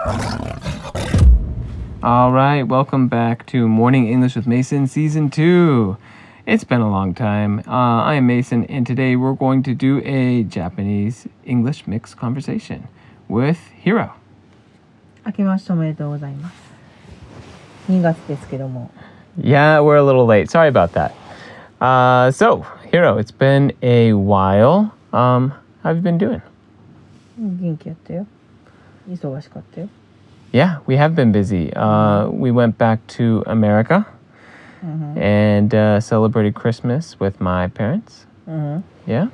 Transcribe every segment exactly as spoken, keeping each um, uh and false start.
All right, welcome back to Morning English with Mason Season two. It's been a long time. Uh, I am Mason, and today we're going to do a Japanese-English mixed conversation with Hiro. 明けましておめでとうございます。にがつですけども。 Yeah, we're a little late. Sorry about that. Uh, so, Hiro, it's been a while. Um, how have you been doing? 元気やったよ。忙しかったよ。 Yeah, we have been busy. Uh, we went back to America Mm-hmm. and uh, celebrated Christmas with my parents. Mm-hmm. Yeah.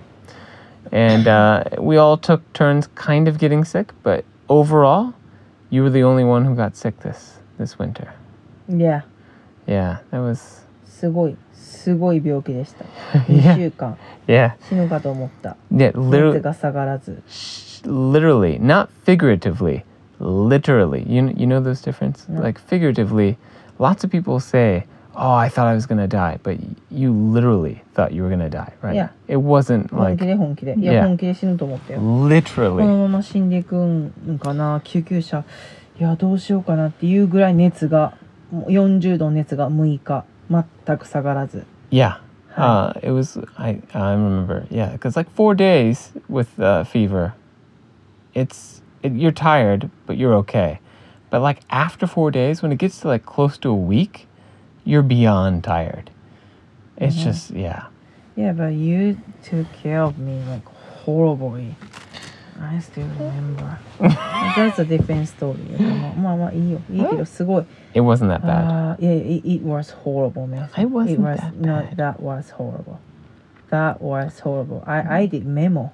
And uh, we all took turns kind of getting sick, but overall, you were the only one who got sick this, this winter. Yeah. Yeah, that was... すごい、すごい病気でした。 Yeah. にしゅうかん Yeah. 死ぬかと思った。 Yeah, 熱 literally, が下がらず。 literally, not figuratively, literally. You, you know those difference? No. Like figuratively, lots of people say, oh, I thought I was going to die, but you literally thought you were going to die, right? Yeah. It wasn't 本 like... 気で本気で。いや、 Yeah. 本気で死ぬと思ったよ。こ Literally. のまま死んでいくんかな、救急車。いや、どうしようかなっていうぐらい熱が、もうよんじゅうどの熱がむいか、全く下がらず。 Yeah. Uh, it was, I, I remember, yeah, because like four days with uh, fever, it's, it, you're tired, but you're okay. But like after four days, when it gets to like close to a week, you're beyond tired. It's Mhm. just, yeah. Yeah, but you took care of me like horribly. I still remember. That's a different story. まあまあいいよ。いいけどすごい。 It wasn't that bad. Uh, yeah, it, it was horrible, man. It wasn't it was, that no, bad. that was horrible. That was horrible. I, I did memo.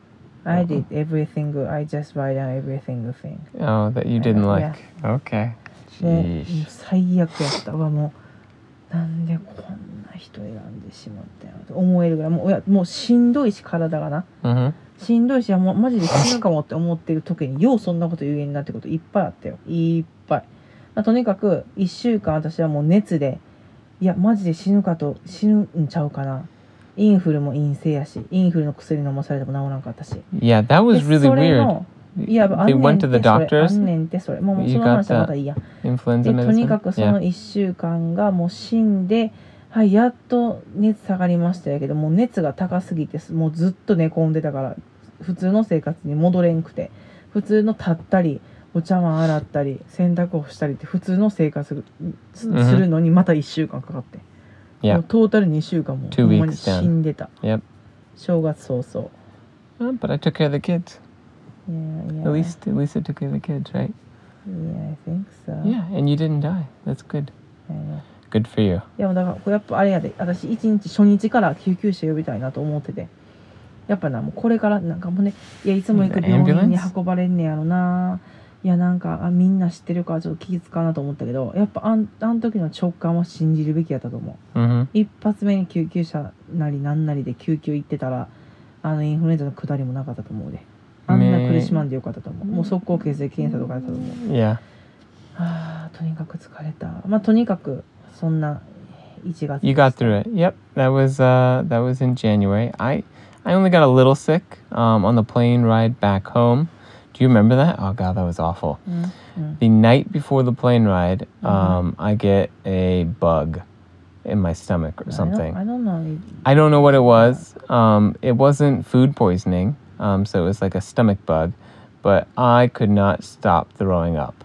I Uh-huh. did everything. I just write down everything thing. Oh, that you didn't Uh, like. Okay. もう Sheesh. 最悪やったわ。もうなんでこんな人選んでしまったよと思えるぐらいもういやもうしんどいし体がな Mm-hmm. しんどいしもうマジで死ぬかもって思ってる時にようそんなこと言えんなってこといっぱいあったよいっぱい、まあ、とにかくいっしゅうかん私はもう熱でいやマジで死ぬかと死ぬんちゃうかなインフルも陰性やしインフルの薬飲まされても治らなかったし Yeah, that で was really それ weird. のいやあん They ねん went って to そ the れあ doctors. んねんってそれもうもう You その got 話はま the たいいや influenza でとに medicine. かくそ Yeah. のいっしゅうかんがもう死んで、はい、やっと熱下がりましたやけどもう熱が高すぎてもうずっと寝込んでたから普通の生活に戻れんくて普通の立ったりお茶碗洗ったり洗濯をしたりって普通の生活するのにまたいっしゅうかんかかって、 Yeah. もうトータルにしゅうかんも Two ほんまに weeks down. 死んでた Yep. 正月早々 Oh, but I took care of the kids. Yeah, yeah. At least, at least I took care of the kids, right? Yeah, I think so. Yeah, and you didn't die. That's good. Yeah, yeah. Good for you. いやだからやっぱあれやで私一日初日から救急車呼びたいなと思っててやっぱなもうこれからなんかもうねいやいつも行く病院に運ばれんねやろないやなんかあみんな知ってるからちょっと気使うなと思ったけどやっぱあんあん時の直感は信じるべきやったと思う Mm-hmm. 一発目に救急車なりなんなりで救急行ってたらあのインフルエンザの下りもなかったと思うであんな苦しまんでよかったと思うもう速攻血液検査とかやったと思う Yeah. はあとにかく疲れたまあとにかくそんないちがつ You got through it. Yep. That was uh that was in January. I I only got a little sick um on the plane ride back home. Do you remember that? Oh god, that was awful. うんうん The night before the plane ride, um I get a bug in my stomach or something. I don't, I don't know. I don't know what it was. Um it wasn't food poisoning. Um so it was like a stomach bug, but I could not stop throwing up.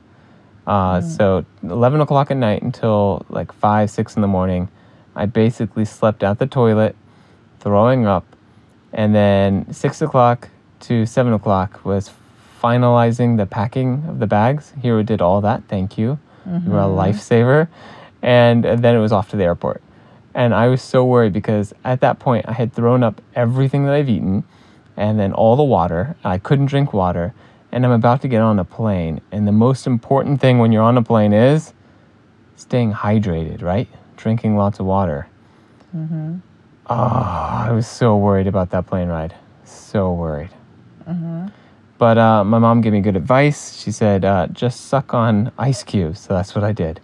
Uh, Mm. So eleven o'clock at night until like five, six in the morning, I basically slept out the toilet, throwing up. And then six o'clock to seven o'clock was finalizing the packing of the bags. Hiro did all that. Thank you. You were a lifesaver. And then it was off to the airport. And I was so worried because at that point I had thrown up everything that I've eaten and then all the water. I couldn't drink water. And I'm about to get on a plane. And the most important thing when you're on a plane is staying hydrated, right? Drinking lots of water. Mm-hmm. Oh, I was so worried about that plane ride. So worried. Mm-hmm. But uh, my mom gave me good advice. She said, uh, just suck on ice cubes. So that's what I did.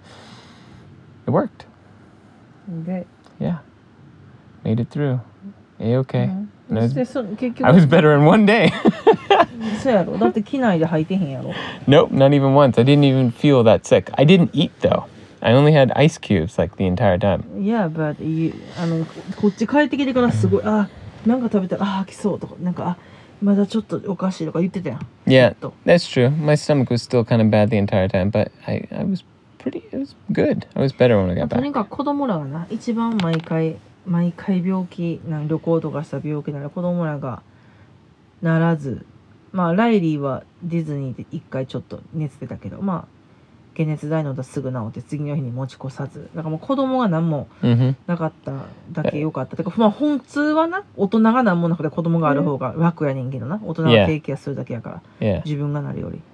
It worked. Good. Yeah. Made it through. A-okay. Mm-hmm. And I was, でそ結局 I was better in one day. そうやろ。だって機内で吐いてへんやろ。 Nope, not even once. I didn't even feel that sick. I didn't eat though. I only had ice cubes like the entire time. Yeah, but you あのこっち帰ってきてからすごいあなんか食べたらあ吐きそうとかなんかあまだちょっとおかしいとか言ってたやん。 Yeah, ずっと that's true. My stomach was still kind of bad the entire time, but I, I was pretty, it was good. I was better when I まあ got とに back. かく子供らがな一番毎回毎回病気なん旅行とかした病気なら子供らがならずまあライリーはディズニーで一回ちょっと熱出たけどまあ解熱剤飲んだらすぐ治って次の日に持ち越さずだからもう子供が何も Mm-hmm. なかっただけ良かったてかまあ本通はな大人が何もなくて子供がある方が楽やねんけどな大人が Yeah. 低気圧するだけやから Yeah. 自分がなるより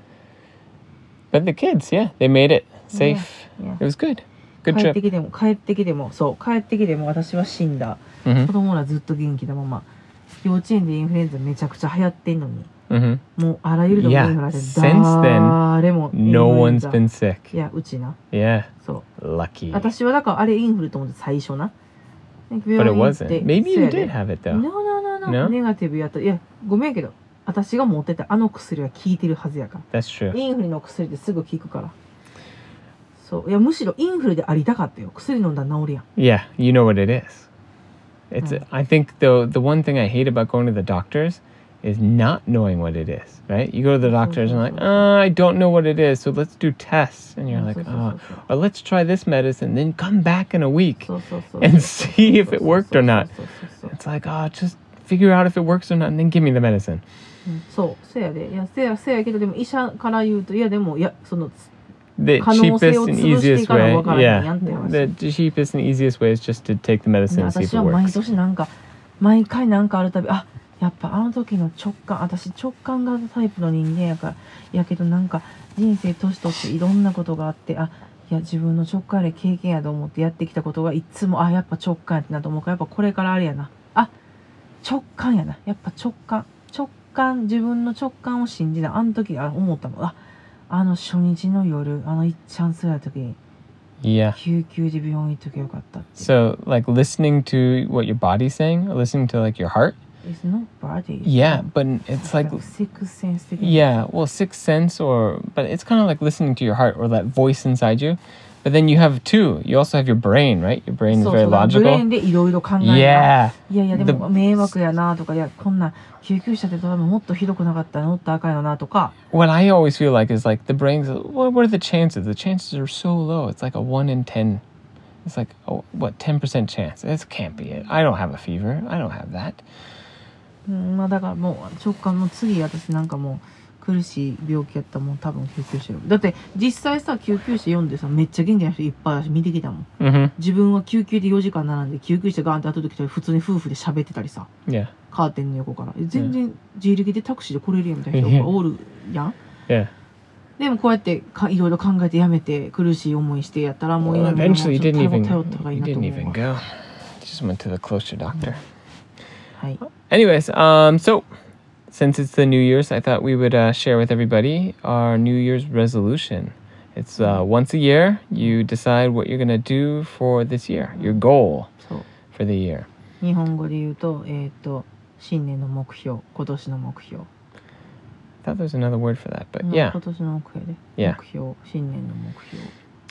But the kids, yeah, they made it safe. Yeah, yeah. It was good. Good 帰っ trip. てきても帰ってきてもそう帰ってきても私は死んだ Mm-hmm. 子供らずっと元気なまま幼稚園でインフルエンザめちゃくちゃ流行ってんのに Mm-hmm. もうあらゆるところにインフルエンザ Yeah, since then, 誰もインフルエン No ザ one's been sick. いやうちな Yeah, そう lucky. 私はだからあれインフルと思って最初な But it wasn't. Maybe you did have it though. No, no, no, no. No? ネガティブやった。いや、ごめんけど、私が持ってたあの薬は効いてるはずやか That's ら。 true. インフルの薬ってすぐ効くから。そう。いや、むしろインフルでありたかったよ。薬飲んだら治るやん。 Yeah, you know what it is. It's. Mm. I think the the one thing I hate about going to the doctors is not knowing what it is. Right? You go to the doctors and like, uh, I don't know what it is, so let's do tests. And you're like, oh, or let's try this medicine, then come back in a week そうそうそう。 and see if it worked or not. そうそうそうそう。 It's like, oh, just figure out if it works or not, and then give me the medicine. うんそう。せやで。いや、せや、せやけど、でも医者から言うと、いや、でも、いや、その、 The 可能性 cheapest を and 潰してい easiest かな way, わからへんや yeah. んって話。 The cheapest and easiest way is just to take the medicine and see if 私 it は毎 works. 年なんか毎回なんかあるたびあやっぱあの時の直感私直感型タイプの人間やからやけどなんか人生年取っていろんなことがあってあいや自分の直感で経験やと思ってやってきたことがいつもあやっぱ直感やってなと思うからやっぱこれからあれやなあ直感やなやっぱ直感直感自分の直感を信じなあの時あ思ったもんああの初日の夜あのいっちゃんすら時に Yeah. 救急で病院行っときゃよかったって So, like listening to what your body's saying, or listening to like your heart. It's not body. Yeah, but it's like, sixth sense 的な yeah, well, sixth sense, or but it's kind of like listening to your heart or that voice inside you. But then you have two. You also have your brain, right? Your brain is そう very そうブレー logical. ンでいろいろ考えな Yeah. いやいやで The- も迷惑やなとかいやこんな救急車で多分もっとひどくなかったら乗ったらあかんよなとか What I always feel like is like the brain's. What, what are the chances? The chances are so low. It's like a one in ten. It's like oh, what ten percent chance. This can't be it. I don't have a fever. I don't have that. うんまあだからもう直感の次私なんかもう苦しい病気やったらもう多分救急車よだって実際さ救急車読んでさめっちゃ元気な人いっぱい私見てきたもん Mm-hmm. 自分は救急でよじかん並んで救急車ガーンって後で来たら普通に夫婦で喋ってたりさ Yeah. カーテンの横からえ全然自力でタクシーで来れるやんみたいな人がおるやん Yeah. でもこうやってかいろいろ考えてやめて苦しい思いしてやったらもう Well, 今もう eventually, you ちょっ didn't と even. 頼った方がいい You なと didn't 思う even わ go. You just went to the closer doctor. はい Anyways, um, so since it's the New Year's, I thought we would uh, share with everybody our New Year's resolution. It's uh, once a year, you decide what you're gonna do for this year, your goal そう for the year. 日本語で言うとえっ、と新年の目標今年の目標 I thought there was another word for that, but うん yeah. 今年の目標で Yeah. 目標新年の目標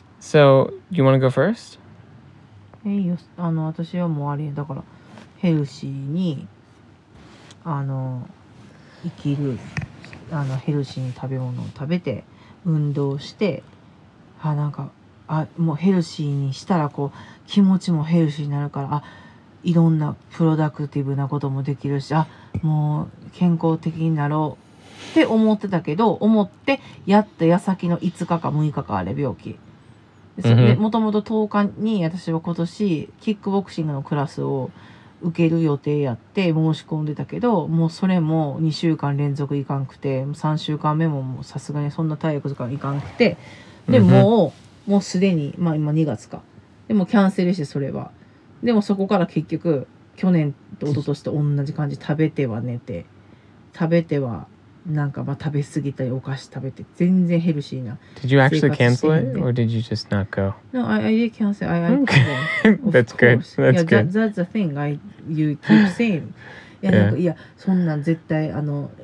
So, you want to go first? えいいよあの私はもうあれだからヘルシーにあの生きるあのヘルシーに食べ物を食べて運動してあなんかあもうヘルシーにしたらこう気持ちもヘルシーになるからあいろんなプロダクティブなこともできるしあもう健康的になろうって思ってたけど思ってやった矢先のいつかかむいかかあれ病気でうんうんもともととおかに私は今年キックボクシングのクラスを受ける予定やって申し込んでたけどもうそれもにしゅうかん連続いかんくてさんしゅうかんめももうさすがにそんな体力時間いかんくてでうんうんもうもうすでにまあ今にがつかでもキャンセルしてそれはでもそこから結局去年と一昨年と同じ感じ食べては寝て食べてはなんかまあ食べ過ぎたりお菓子食べて全然ヘルシーな Did you actually 生活して cancel へん it, で or did you just not go? No, I, I did cancel. I, I Okay. couldn't. Of That's good. course. That's yeah, good. That, that's the thing. I you keep saying. いやなんか Yeah. いやそんなん絶対あの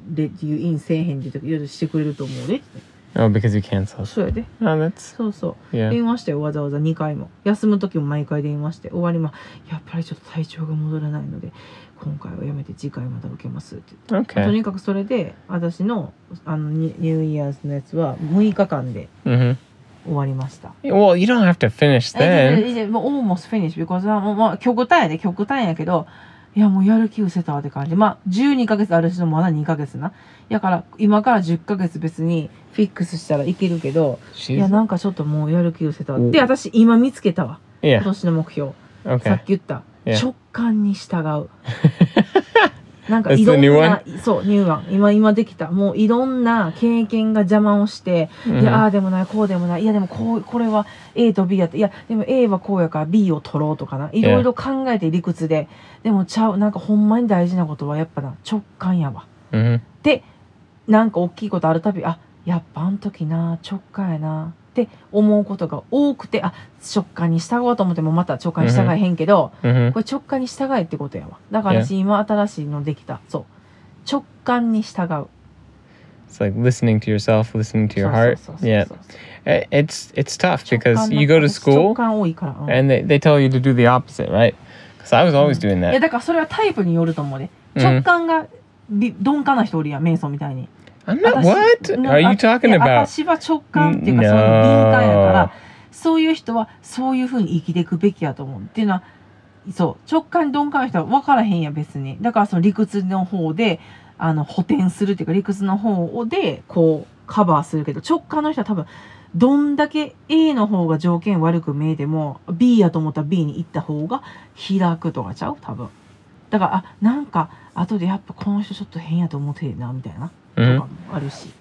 レっていうインせえへんでとかいろいろしてくれると思うでって。 Oh, because you canceled. そうやで。 Oh, that's そうそう、 yeah. 電話してわざわざにかいも休む時も毎回電話して終わりまやっぱりちょっと体調が戻らないので今回はやめて次回また受けますって言って、 Okay. とにかくそれで私のあのニニューイヤーズのやつはむいかかんで Mm-hmm. 終わりました。 Well, you don't have to finish え then. いやもう almost finished because もうまあ極端やで極端やけどいやもうやる気失せたわって感じ。まあじゅうにかげつある人もまだにかげつな。だから今からじゅっかげつ別にフィックスしたらいけるけど、いや She's なんかちょっともうやる気失せたわ。 うんで私今見つけたわ。今 yeah. 年の目標。さ Okay. っき言った、 Yeah. 直感に従う。なんか That's いろん the new なそうニューワン今今できたもういろんな経験が邪魔をして、 Mhm. いやああでもないこうでもないいやでもこうこれは A と B やっていやでも A はこうやから B を取ろうとかないろいろ考えて理屈ででもちゃうなんかほんまに大事なことはやっぱな直感やわ。 Mm-hmm. でなんか大きいことあるたびあやっぱあの時な直感やなって思うことが多くてあ直感に従おうと思ってもまた直感に従えへんけど、 Mm-hmm. これ直感に従えってことやわ。だから私今新しいのできた。そう直感に従う。 It's like listening to yourself, listening to your そう heart. そうそうそう Yeah. そう I- It's it's tough 直 because 感の you go to 私直 school 感多いから、うん and they, they tell you to do the opposite, right? Because I was always doing いや that. だからそれはタイプによると思うで。 うん直感がび鈍感な人おるやんメイソンみたいに。 I'm not. 私 What な are you あ talking いや about? 私は直感っていうか No そういう敏感やからそういう人はそういうふうに生きていくべきやと思う。っていうのはそう直感に鈍感な人は分からへんや別に。だからその理屈の方であの補填するっていうか理屈の方でこうカバーするけど直感の人は多分どんだけ A の方が条件悪く見えても B やと思ったら B に行った方が開くとかちゃう多分。だからあなんか後でやっぱこの人ちょっと変やと思ってるなみたいなとか Mhm. もあるし。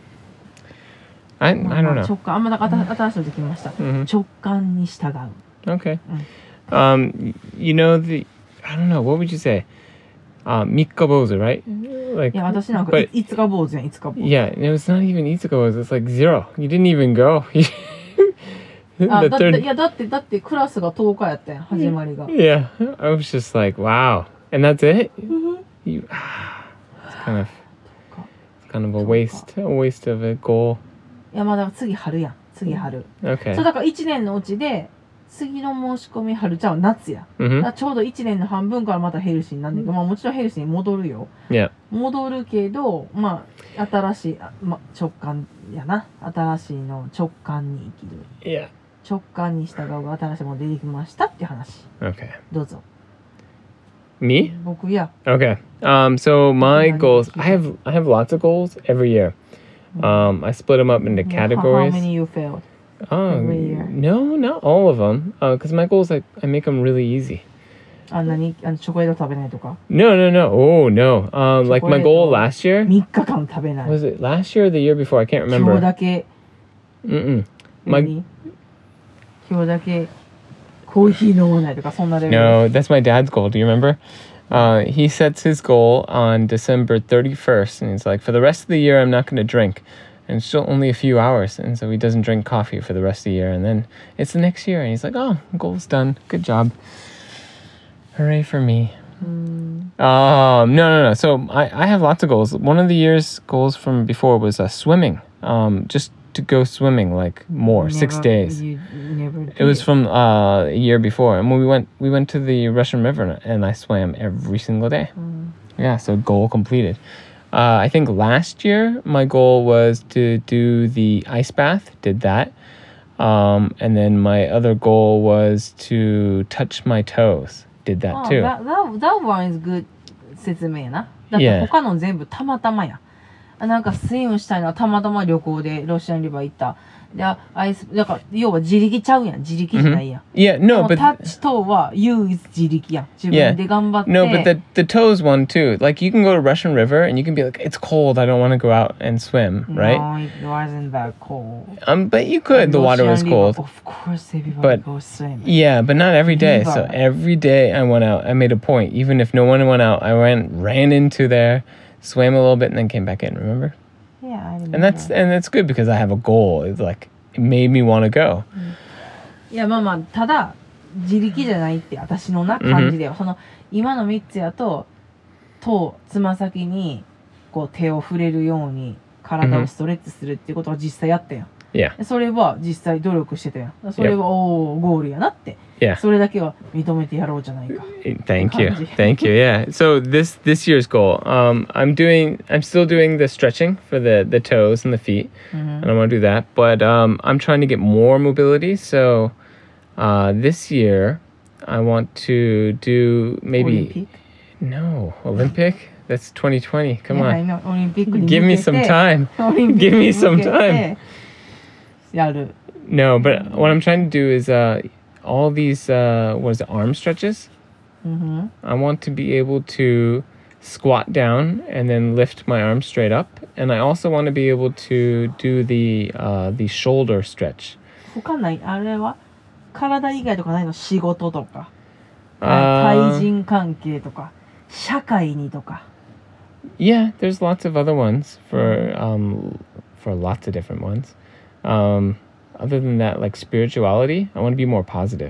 I ま I あま don't あ know. 直感あんまだから新しいのできました。 Mhm. 直感に従う。 Okay. Mm. Um, y- you know the I don't know. What would you say? Uh, Mikkabozu, right? Like, いや私なんか but いつか坊主やんいつか坊主。 yeah, it was not even Itsukabozu. It's like zero. You didn't even go. あ the だってい third. やだってだってクラスがとおかやったやん始まりが。 Yeah, I was just like, wow, and that's it. You, it's kind of, it's kind of a waste, a waste of a goal. いやまだ次春やん次春。 Okay. そうだからいちねんのうちで次の申し込み春ちゃんは夏や。だか Mm-hmm. らちょうどいちねんの半分からまたヘルシーになんねんけど、まあもちろんヘルシーに戻るよ。 Yeah. 戻るけどまあ新しいあ、ま、直感やな新しいの直感に生きる Yeah. 直感に従うが新しいもの出てきましたっていう話 Okay. どうぞ。 Me? 僕や Okay. Um. So my Yeah, goals. yeah. I have I have lots of goals every year. Um. I split them up into How- How categories. many you failed? Oh every year? no, not all of them. Uh, because my goals I I make them really easy. あんなにあのチョコレート食べないとか No, no, no. Oh no. Um. Like my goal Chocolate. last year. みっかかん食べない。 Was it last year or the year before? I can't 今日 remember. だけ Mm-mm. My 何今日だけコーヒー飲まないとかそんなレベル。 No, that's my dad's goal. Do you remember? Uh, he sets his goal on December thirty-first, and he's like, for the rest of the year, I'm not going to drink. And it's still only a few hours, and so he doesn't drink coffee for the rest of the year. And then it's the next year, and he's like, oh, goal's done. Good job. Hooray for me. うーん Um, no, no, no. So I, I have lots of goals. One of the year's goals from before was uh, swimming. Um, just to go swimming like more, six Never- days. you never It was did. from uh, a year before, and when we went, we went to the Russian River, and I swam every single day. うん Yeah, so goal completed. Uh, I think last year my goal was to do the ice bath. Did that, um, and then my other goal was to touch my toes. Did that あ too. that, that, that one is good 説明やな。だって Yeah. 他の全部たまたまや。あなんかスイムしたいのはたまたま旅行でロシアンリバー行った。で、あアイス、だから要は自力ちゃうやん。自力じゃないやん。 Yeah, で no, も but タッチ等は you is 自力やん。自分で頑張って。 no, but the the toes one too. Like you can go to Russian River and you can be like, it's cold. I don't want to go out and swim, right? No, it wasn't that cold. Um, but you could. The water was Russian cold. river, of course, everybody But- goes swimming. Yeah, but not every day. So Never. every day I went out. I made a point. Even if no one went out, I went, ran into there, swam a little bit, and then came back in. Remember? Yeah, I remember. And that's and that's good because I have a goal. It's like it made me want to go. いやまあまあただ自力じゃないって私のな感じでは、その今のみっつやと頭つま先にこう手を触れるように体をストレッチするっていうことは実際やったやん。 Yeah. でそれは実際努力してたやん。それは、おおゴールやなって。 Yeah. それだけは認めてやろうじゃないか。 Thank you. Thank you. Yeah. So this this year's goal, um, I'm doing, I'm still doing the stretching for the the toes and the feet, Mhm. and I want to do that. But um, I'm trying to get more mobility. So uh, this year, I want to do maybe Olympic? no Olympic. That's twenty twenty. Come いや I on, know オリンピックに give 向 me けて some time. オリンピッ Give クに me 向 some けて time. やる。 No, but what I'm trying to do is uh, all these uh, what is it, arm stretches. Mhm. I want to be able to squat down and then lift my arms straight up, and I also want to be able to do the uh, the shoulder stretch. 他ないあれは体以外とかないの？仕事とか、 Uh, 対人関係とか、社会にとか。 yeah, there's lots of other ones for um, for lots of different ones. Um, other than that, like spirituality, I want to be more positive.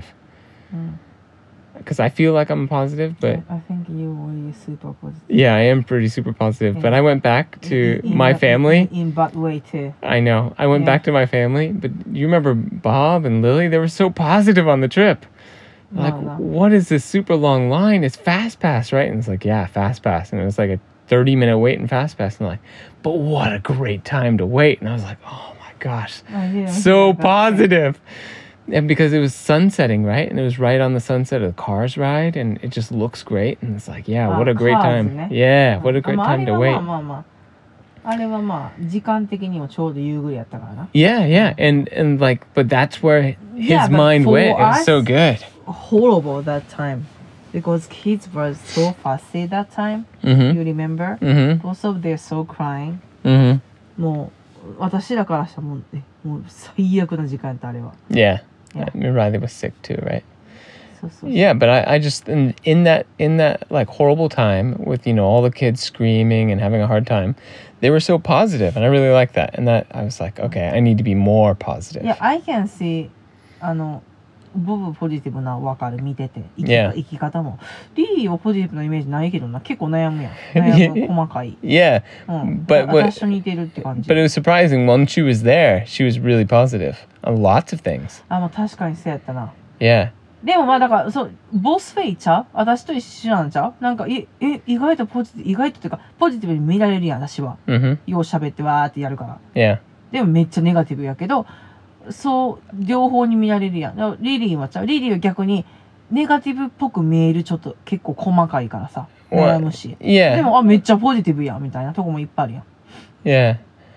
Because I feel like I'm positive, but I think you were super positive. yeah, I am pretty super positive. But I went back to In- in my bad- family. In, in bad way too. I know. I went Yeah. back to my family, but you remember Bob and Lily? They were so positive on the trip. Like, No, no. what is this super long line? It's Fast Pass, right? And it's like, yeah, Fast Pass. And it was like a thirty minute wait in Fast Pass. And they're like, but what a great time to wait. And I was like, oh my gosh, I didn't so feel that way. positive. And because it was sunsetting, right? And it was right on the sunset of the Cars ride. And it just looks great. And it's like, yeah, what Ah, a great Cars, time. ne? Yeah, what a great まあ、あ time れ to は wait. まあまあまああれはまあ時間的にもちょうど夕暮れやったからな。 Yeah, yeah. And, and like, but that's where his Yeah, but mind for went. It was us- so good. Horrible that time because kids were so fussy that time. Mm-hmm. You remember? Mm-hmm. Both of them so crying. Mm-hmm. もう私らからしたらもうえもう最悪な時間やったあれは。 Yeah. Yeah. I mean, Riley was sick too, right? そうそうそう。 Yeah, but I, I just in, in that in that like horrible time with, you know, all the kids screaming and having a hard time, they were so positive, and I really liked that. And that I was like, okay, I need to be more positive. Yeah, I can see あのボブポジティブなわかる見てて生き,、 Yeah. 生き方もリリーはポジティブなイメージないけどな結構悩むやん悩む細かい、 Yeah, うん、 but 私 what, と似てるって感じ but it was surprising when she was there, she was really positive on lots of things. あ、まあ確かにそうやったな Yeah. でもまあだからそうボスフェイちゃう私と一緒なんちゃうなんかええ意外とポジティブ意外とっていうかポジティブに見られるやん私は Mm-hmm. よう喋ってわーってやるから Yeah. でもめっちゃネガティブやけどそう両方に見られるやんだからリリーはちゃうリリーは逆にネガティブっぽく見えるちょっと結構細かいからさ悩むし Yeah. でもあめっちゃポジティブやんみたいなとこもいっぱいあるやん Yeah.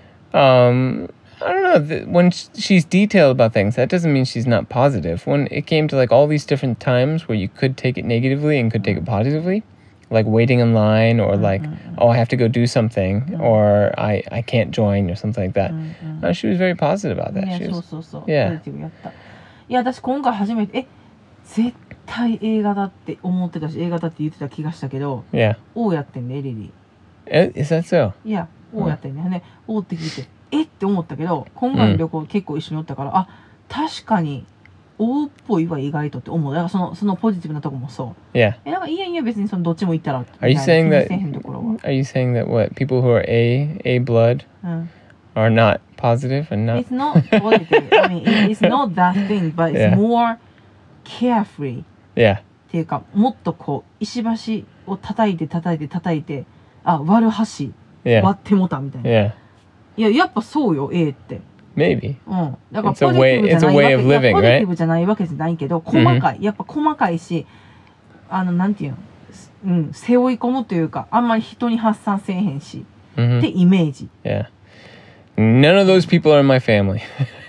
Um, I don't know. th- When sh- she's detailed about things, that doesn't mean she's not positive. When it came to like all these different times where you could take it negatively and could take it positively, like waiting in line or like, oh, I have to go do something or I, I can't join or something like that. Uh, she was very positive about that. ね She そう was, そうそう、 Yeah. ポジティブやったいや私今回初めてえ絶対映画だって思ってたし映画だって言ってた気がしたけど yeah. 王やってんねリリ Eh, Is that so? ーいや王やってんね、ね王って聞いてえって思ったけど今回の旅行結構一緒におったから、あ確かに王っぽいは意外とって思うだからそのそのポジティブなとこもそう Yeah. えなんかいやいや別にそのどっちも行ったら Are you みたい saying な that- 気にせえへんところは Are you saying that what people who are A, A blood うん are not positive and not? It's not positive. I mean, it- it's not that thing, but it's Yeah. more carefree. Yeah. っていうか、もっとこう、石橋を叩いて叩いて叩いて、あ、割る橋、 Yeah. 割ってもたみたいな。 Yeah. いや、やっぱそうよ、A って。 Maybe. うん。だから It's a ポジティブじゃない way- わ it's a way け of いや living, ポジティ right? ブじゃないわけじゃないけど、細かい。やっぱ細かいし、あの、なんていうの、うん、背負い込むというか、あんまり人に発散せえへんし、 Mm-hmm. ってイメージ。 Yeah. None of those people are in my family.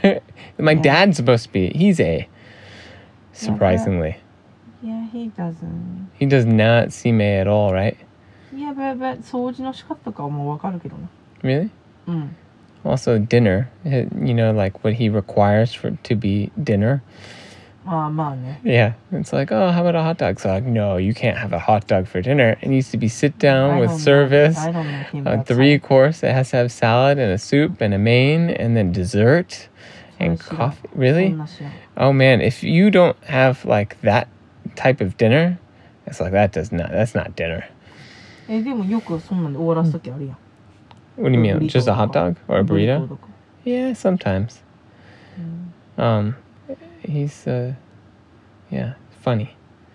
My dad's supposed to be. He's A. Surprisingly. Yeah, he doesn't. He does not seem A at all, right? Yeah, but, but 掃除の仕方とかはもうわかるけどな。 Really? うん。 Also, dinner. eh, You know, like what he requires for to be dinner. まあまあね。 Yeah. It's like, oh, how about a hot dog? So like, no, you can't have a hot dog for dinner. It needs to be sit down I with don't know- service. I don't know him A that three time. course. It has to have salad and a soup and a main and then dessert and So coffee. そ Really? んな知らん Oh man, if you don't have like that type of dinner, it's like that does not. That's not dinner. えでもよくそんなんで終わらすときあるやん。 What do you mean? Just a hot dog or a ブリトー burrito? とか Yeah, sometimes. うん Um, he's uh, yeah, funny.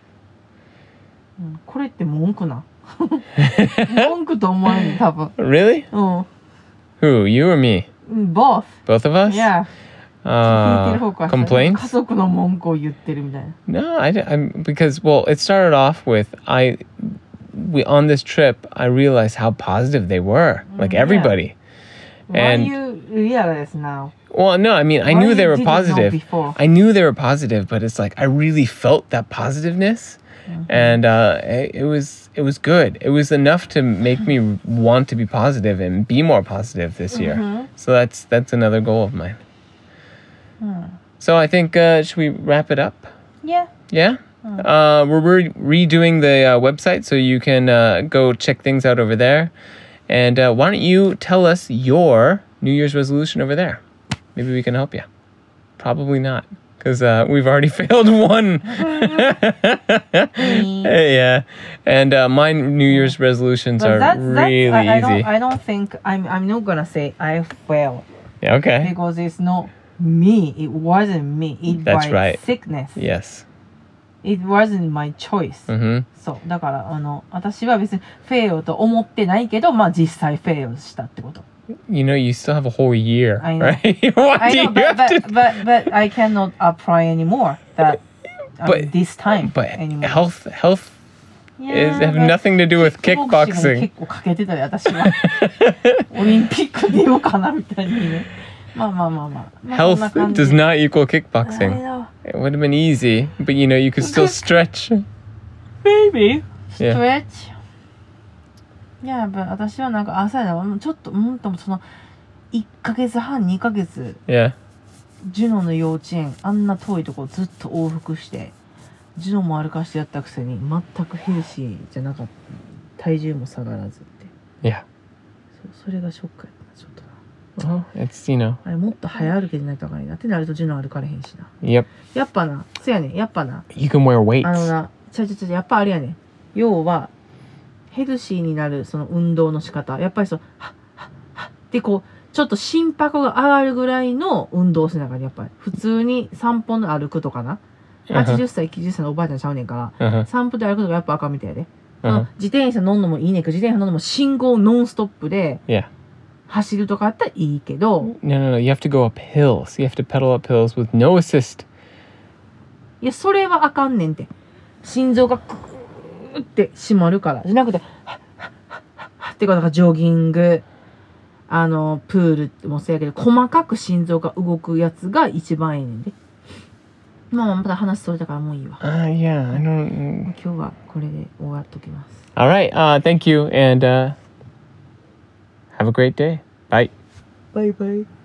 うんこれって文句な文句と思わんね多分 Really? うん Who? You or me? うん both Both of us? いや聞いてる方 Uh, からしたら complaints? 家族の文句を言ってるみたいな No, I, am because well, it started off with I, we on this trip I realized how positive they were, like yeah. everybody. Why And- you realize now? Well, no, I mean I Why knew they you were didn't know positive. before? I knew they were positive, but it's like I really felt that positiveness, and uh, it, it was it was good. It was enough to make me want to be positive and be more positive this year. Mhm. So that's that's another goal of mine. うん So I think uh, should we wrap it up? Yeah. Yeah. Uh, we're re- redoing the uh, website, so you can uh, go check things out over there. And uh, why don't you tell us your New Year's resolution over there? Maybe we can help you. Probably not, because uh, we've already failed one. Yeah. And uh, my New Year's resolutions But are that's, really that's, I, I easy. don't, I don't think I'm I'm not gonna say I failed Yeah, okay. because it's not me. It wasn't me. It That's was right. sickness. Yes. It wasn't my choice. Mm-hmm. そうだからあの私は別にフェイルと思ってないけどまあ実際フェイルしたってこと。 You know, you still have a whole year, I know. right? What I do know, you but, have to but, but, but I cannot apply anymore that um, But- this time But anymore. health, health is Yeah, have but nothing to do with キックボクシングに kickboxing. 結構かけてたで私はオリンピック出ようかなみたいにねまあまあまあまあ、まあ、そん Health な感じ does not equal あ kickboxing. の It would have been easy, but you know, you could still stretch. Baby Yeah. stretch いや、but 私はなんか朝やなちょっとうんともそのいっかげつはんにかげつ Yeah. ジュノの幼稚園あんな遠いとこずっと往復してジュノも歩かしてやったくせに全くヘルシーじゃなかった体重も下がらずって Yeah. そうそれがショックやったなちょっとな Well, it's, you know. あれもっと早歩けじゃないとあかんねんなってなるとジュノ歩かれへんしな Yep. やっぱなそやねんやっぱな You can wear あの weights. なちゃちゃちゃやっぱあれやねん要はヘルシーになるその運動の仕方やっぱりそうはっはっはっってこうちょっと心拍が上がるぐらいの運動をしながらやっぱり普通に散歩の歩くとかな Uh-huh. はちじゅっさいきゅうじゅっさいのおばあちゃんちゃうねんから Uh-huh. 散歩で歩くとかやっぱあかんみたいで、 Uh-huh. 自転車乗んのもいいねんけど自転車乗んのも信号ノンストップで Yeah. 走るとかあったらいいけど No, no, no. You have to go up hills. You have to pedal up hills with no assist. いやそれはあかんねんって心臓がクーって締まるからじゃなくてはっはっはっはっはってことがジョギングあのプールもそうやけど細かく心臓が動くやつが一番いいねんでまあまあまた話それだからもういいわ Uh, yeah, I don't. 今日はこれで終わっときます All right. Uh, thank you, and uh, have a great day. Bye. バイバイ